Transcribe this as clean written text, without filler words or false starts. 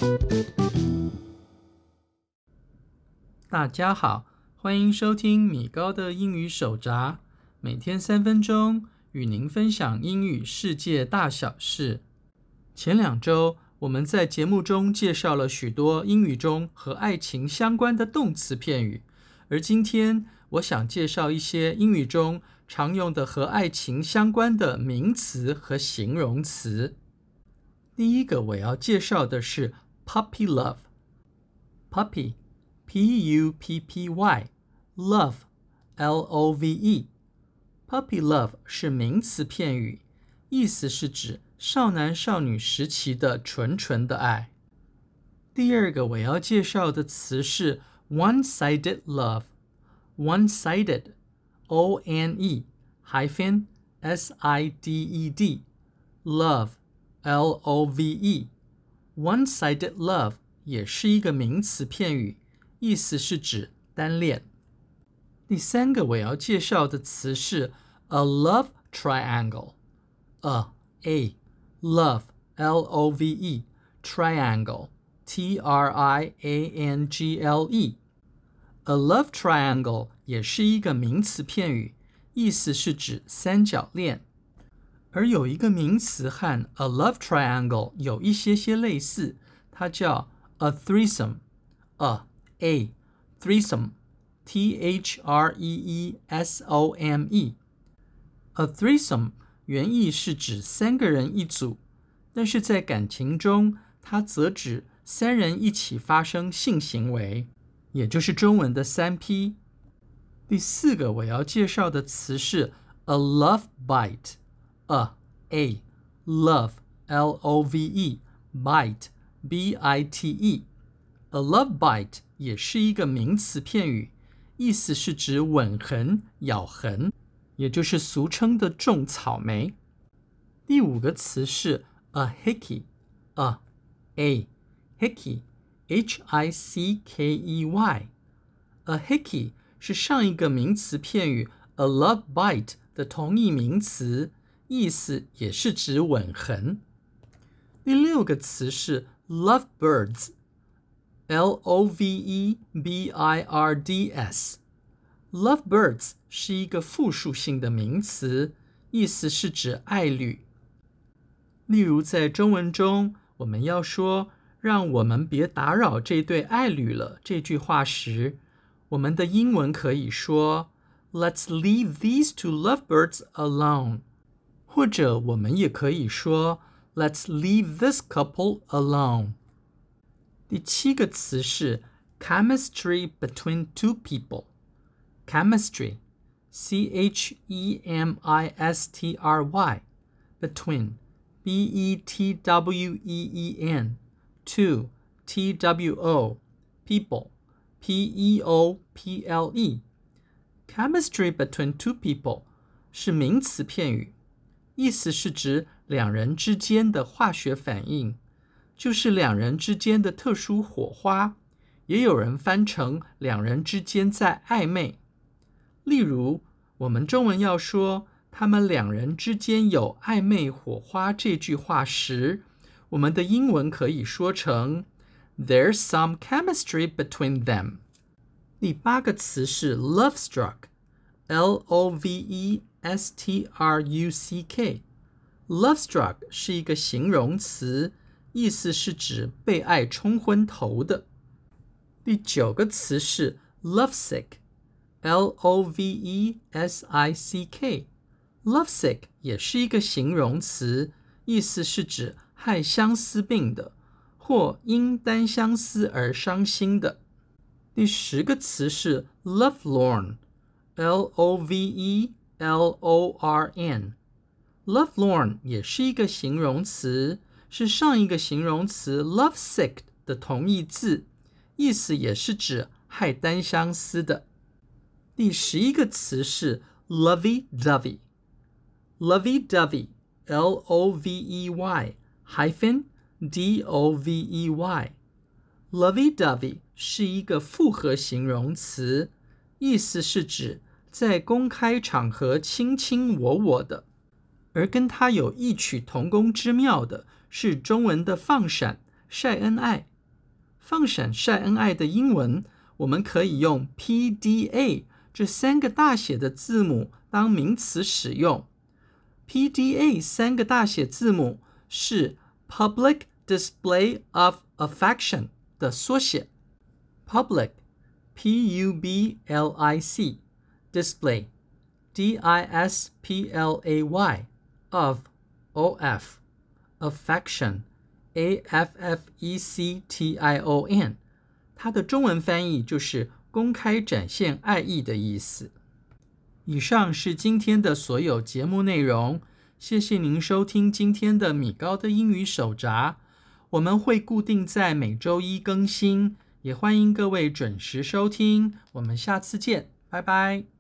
大家好，歡迎收聽米高的英語手札，每天3分鐘，與您分享英語世界大小事。前2週，我們在節目中介紹了許多英語中和愛情相關的動詞片語，而今天我想介紹一些英語中常用的和愛情相關的名詞和形容詞。第一個我要介紹的是 puppy love。puppy P-U-P-P-Y Love L-O-V-E Puppy love 是名詞片語，意思是指少男少女時期的純純的愛。第二個我要介紹的詞是 one-sided love One-sided O-N-E-S-I-D-E-D Love L-O-V-E One-sided love 也是一個名詞片語，意思是指單戀。第三個我要介紹的詞是 a love triangle。A love L-O-V-E triangle T-R-I-A-N-G-L-E A love triangle 也是一個名詞片語，意思是指三角戀。而有一個名詞和 a love triangle 有一些類似，它叫 a threesome。A threesome T-H-R-E-E-S-O-M-E A threesome 原意是指3個人一組，但是在感情中，它則指3人一起發生性行為，也就是中文的3P。第4個我要介紹的詞是 a love bite。A love L-O-V-E bite B-I-T-E A love bite 也是一個名詞片語，意思是指吻痕、咬痕，也就是俗稱的種草莓。第5個詞是 a hickey。A hickey H-I-C-K-E-Y A hickey 是上一個名詞片語 a love bite 的同義名詞，意思也是指吻痕。第6個詞是 lovebirds。L-O-V-E-B-I-R-D-S Lovebirds 是一個複數性的名詞，意思是指愛侶。例如在中文中，我們要說讓我們別打擾這對愛侶了這句話時，我們的英文可以說 Let's leave these two lovebirds alone， 或者我們也可以說 Let's leave this couple alone。第7個詞是 chemistry between two people。Chemistry C-H-E-M-I-S-T-R-Y between B-E-T-W-E-E-N two T-W-O people P-E-O-P-L-E Chemistry between two people 是名詞片語，意思是指2人之間的化學反應，就是2人之間的特殊火花，也有人翻成2人之間在曖昧。例如，我們中文要說他們2人之間有曖昧火花這句話時，我們的英文可以說成 There's some chemistry between them。第8個詞是 lovestruck L-O-V-E-S-T-R-U-C-K Lovestruck 是一個形容詞，意思是指被愛沖昏頭的。第9個詞是 lovesick L-O-V-E-S-I-C-K Lovesick 也是一個形容詞，意思是指害相思病的，或因單相思而傷心的。第10個詞是 lovelorn L-O-V-E-L-O-R-N Lovelorn 也是一個形容詞，是上一個形容詞 lovesick 的同義字，意思也是指害單相思的。第11個詞是 lovey-dovey Lovey-dovey L-O-V-E-Y D-O-V-E-Y Lovey-dovey 是一個複合形容詞，意思是指在公開場合卿卿我我的。而跟它有異曲同工之妙的是中文的放閃、曬恩愛放閃曬恩愛的英文，我們可以用 PDA 這3個大寫的字母當名詞使用。PDA 3個大寫字母是 Public Display of Affection 的縮寫。Public P-U-B-L-I-C Display D-I-S-P-L-A-Y of O-F Affection A-F-F-E-C-T-I-O-N 它的中文翻譯就是公開展現愛意的意思。以上是今天的所有節目內容，謝謝您收聽今天的米高的英語手札。我們會固定在每週一更新，也歡迎各位準時收聽。我們下次見，拜拜。